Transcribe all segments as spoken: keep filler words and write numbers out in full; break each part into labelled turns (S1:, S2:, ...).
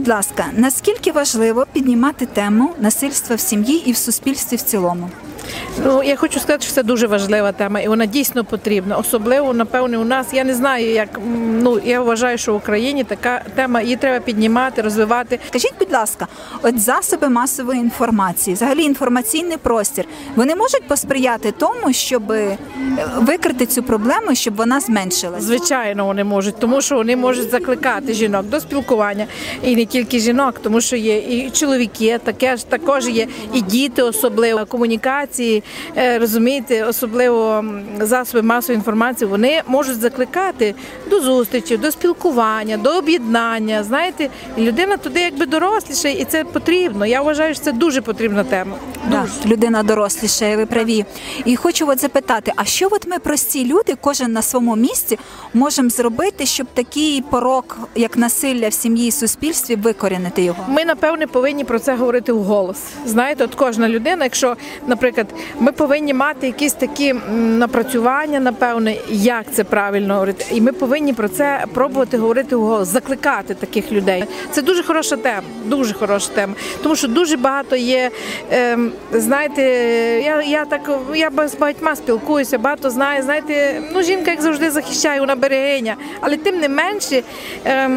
S1: ласка, наскільки важливо піднімати тему насильства в сім'ї і в суспільстві в цілому?
S2: Ну, я хочу сказати, що це дуже важлива тема, і вона дійсно потрібна. Особливо, напевне, у нас, я не знаю, як, ну, я вважаю, що в Україні така тема, її треба піднімати, розвивати.
S1: Скажіть, будь ласка, от засоби масової інформації, взагалі інформаційний простір, вони можуть посприяти тому, щоб викрити цю проблему, щоб вона зменшилась?
S2: Звичайно, вони можуть, тому що вони можуть закликати жінок до спілкування. І не тільки жінок, тому що є і чоловіки, таке ж також є, і діти особливо, комунікації, розумієте, особливо засоби масової інформації, вони можуть закликати до зустрічі, до спілкування, до об'єднання. Знаєте, людина туди якби доросліша, і це потрібно. Я вважаю, що це дуже потрібна тема.
S1: Да, людина доросліша, ви праві. І хочу от запитати, а що от ми, прості люди, кожен на своєму місці, можемо зробити, щоб такий порок, як насилля в сім'ї і суспільстві, викорінити його?
S2: Ми, напевне, повинні про це говорити вголос. Знаєте, от кожна людина, якщо, наприклад, ми повинні мати якісь такі напрацювання, напевне, як це правильно говорити. І ми повинні про це пробувати говорити вголос, закликати таких людей. Це дуже хороша тема, дуже хороша тема. Тому що дуже багато є, е, знаєте, я, я так, я з багатьма спілкуюся, багато знаю, знаєте, ну, жінка, як завжди, захищає, вона берегиня. Але тим не менше, е,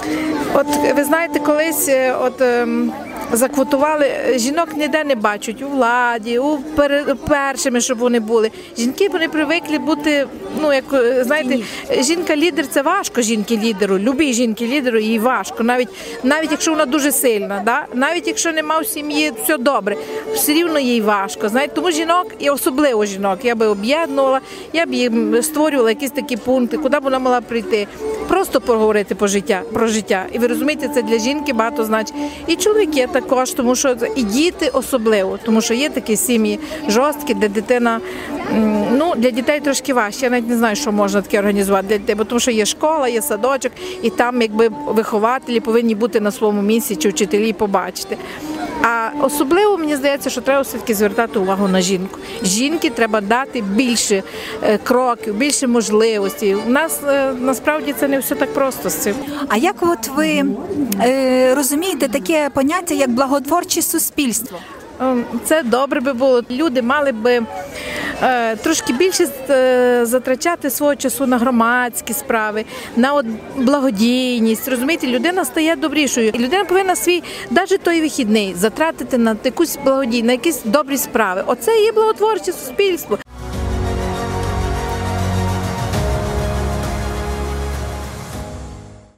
S2: от ви знаєте, колись, от, е, заквотували, жінок ніде не бачать, у владі, у пер, першими, щоб вони були. Жінки, вони привикли бути, ну, як, знаєте, жінка-лідер – це важко жінки-лідеру, любій жінки-лідеру їй важко, навіть, навіть якщо вона дуже сильна, да? Навіть якщо нема в сім'ї, все добре, все рівно їй важко, знаєте, тому жінок, і особливо жінок, я би об'єднувала, я б їм створювала якісь такі пункти, куди б вона могла прийти, просто поговорити про життя, про життя. І ви розумієте, це для жінки багато значить. І чоловіки також, тому що і діти особливо, тому що є такі сім'ї жорсткі, де дитина, ну, для дітей трошки важче. Я навіть не знаю, що можна таке організувати для дітей, бо тому що є школа, є садочок, і там якби вихователі повинні бути на своєму місці, чи вчителі побачити. А особливо, мені здається, що треба все-таки звертати увагу на жінку. Жінки треба дати більше кроків, більше можливостей. У нас насправді це не все так просто з цим.
S1: А як от ви е, розумієте таке поняття, як благотворче суспільство?
S2: Це добре би було. Люди мали би е, трошки більше е, затрачати свого часу на громадські справи, на от, благодійність. Розумієте, людина стає добрішою. І людина повинна свій, навіть той вихідний, затратити на якусь благодійність, на якісь добрі справи. Оце і є благотворче суспільство.